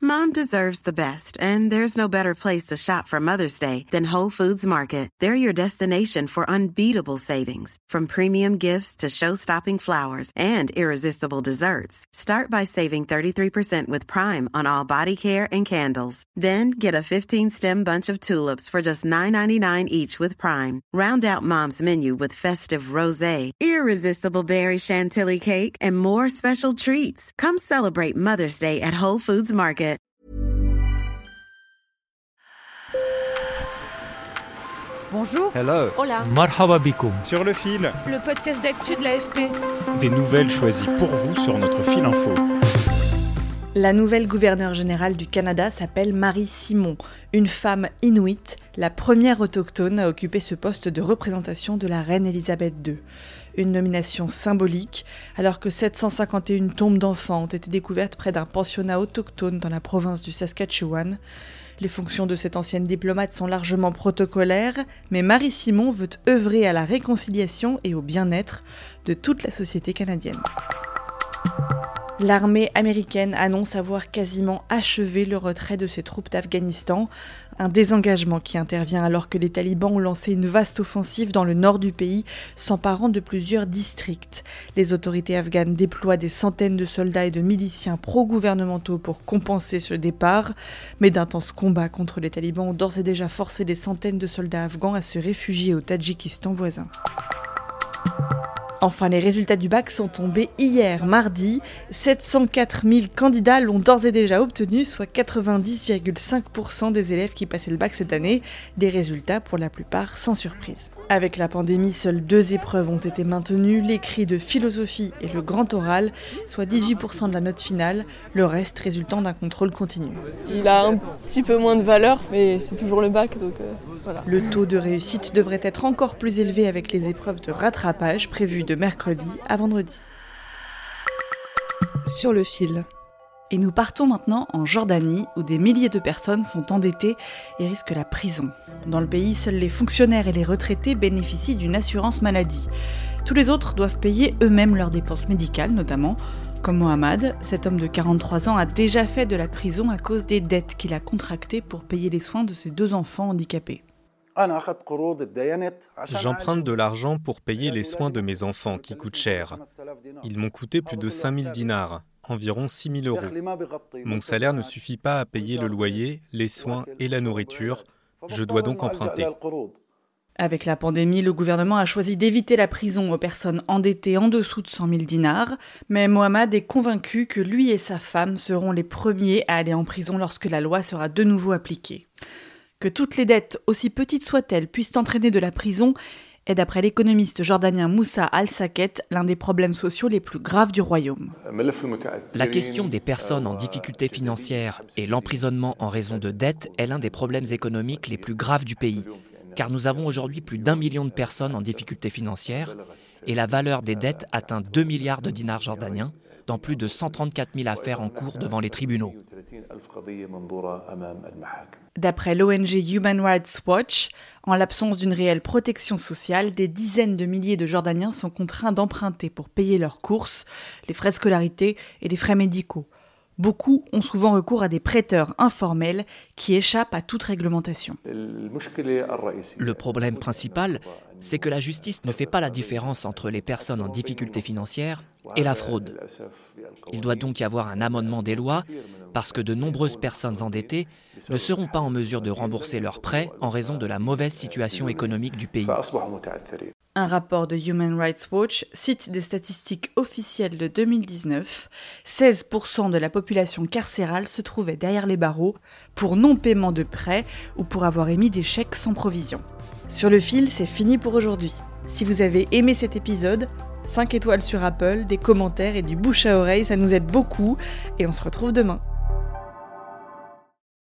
Mom deserves the best, and there's no better place to shop for Mother's Day than Whole Foods Market. They're your destination for unbeatable savings, from premium gifts to show-stopping flowers and irresistible desserts. Start by saving 33% with Prime on all body care and candles. Then get a 15-stem bunch of tulips for just $9.99 each with Prime. Round out Mom's menu with festive rosé, irresistible berry chantilly cake, and more special treats. Come celebrate Mother's Day at Whole Foods Market. Bonjour. Hello. Hola. Marhaba bikoum. Sur le fil. Le podcast d'actu de l'AFP. Des nouvelles choisies pour vous sur notre fil info. La nouvelle gouverneure générale du Canada s'appelle Marie Simon, une femme inuite, la première autochtone à occuper ce poste de représentation de la reine Elisabeth II. Une nomination symbolique, alors que 751 tombes d'enfants ont été découvertes près d'un pensionnat autochtone dans la province du Saskatchewan. Les fonctions de cette ancienne diplomate sont largement protocolaires, mais Marie Simon veut œuvrer à la réconciliation et au bien-être de toute la société canadienne. L'armée américaine annonce avoir quasiment achevé le retrait de ses troupes d'Afghanistan, un désengagement qui intervient alors que les talibans ont lancé une vaste offensive dans le nord du pays, s'emparant de plusieurs districts. Les autorités afghanes déploient des centaines de soldats et de miliciens pro-gouvernementaux pour compenser ce départ, mais d'intenses combats contre les talibans ont d'ores et déjà forcé des centaines de soldats afghans à se réfugier au Tadjikistan voisin. Enfin, les résultats du bac sont tombés hier, mardi. 704 000 candidats l'ont d'ores et déjà obtenu, soit 90,5% des élèves qui passaient le bac cette année. Des résultats pour la plupart sans surprise. Avec la pandémie, seules 2 épreuves ont été maintenues, l'écrit de philosophie et le grand oral, soit 18% de la note finale, le reste résultant d'un contrôle continu. Il a un petit peu moins de valeur, mais c'est toujours le bac, donc voilà. Le taux de réussite devrait être encore plus élevé avec les épreuves de rattrapage prévues de mercredi à vendredi. Sur le fil. Et nous partons maintenant en Jordanie, où des milliers de personnes sont endettées et risquent la prison. Dans le pays, seuls les fonctionnaires et les retraités bénéficient d'une assurance maladie. Tous les autres doivent payer eux-mêmes leurs dépenses médicales, notamment. Comme Mohamed, cet homme de 43 ans a déjà fait de la prison à cause des dettes qu'il a contractées pour payer les soins de ses 2 enfants handicapés. J'emprunte de l'argent pour payer les soins de mes enfants qui coûtent cher. Ils m'ont coûté plus de 5 000 dinars, environ 6 000 euros. Mon salaire ne suffit pas à payer le loyer, les soins et la nourriture. Je dois donc emprunter. Avec la pandémie, le gouvernement a choisi d'éviter la prison aux personnes endettées en dessous de 100 000 dinars. Mais Mohamed est convaincu que lui et sa femme seront les premiers à aller en prison lorsque la loi sera de nouveau appliquée. Que toutes les dettes, aussi petites soient-elles, puissent entraîner de la prison est, d'après l'économiste jordanien Moussa Al-Saket, l'un des problèmes sociaux les plus graves du royaume. La question des personnes en difficulté financière et l'emprisonnement en raison de dettes est l'un des problèmes économiques les plus graves du pays, car nous avons aujourd'hui plus d'1 million de personnes en difficulté financière et la valeur des dettes atteint 2 milliards de dinars jordaniens, dans plus de 134 000 affaires en cours devant les tribunaux. D'après l'ONG Human Rights Watch, en l'absence d'une réelle protection sociale, des dizaines de milliers de Jordaniens sont contraints d'emprunter pour payer leurs courses, les frais de scolarité et les frais médicaux. Beaucoup ont souvent recours à des prêteurs informels qui échappent à toute réglementation. Le problème principal, c'est que la justice ne fait pas la différence entre les personnes en difficulté financière et la fraude. Il doit donc y avoir un amendement des lois parce que de nombreuses personnes endettées ne seront pas en mesure de rembourser leurs prêts en raison de la mauvaise situation économique du pays. Un rapport de Human Rights Watch cite des statistiques officielles de 2019. 16% de la population carcérale se trouvait derrière les barreaux pour non-paiement de prêts ou pour avoir émis des chèques sans provision. Sur le fil, c'est fini pour aujourd'hui. Si vous avez aimé cet épisode, 5 étoiles sur Apple, des commentaires et du bouche à oreille, ça nous aide beaucoup et on se retrouve demain.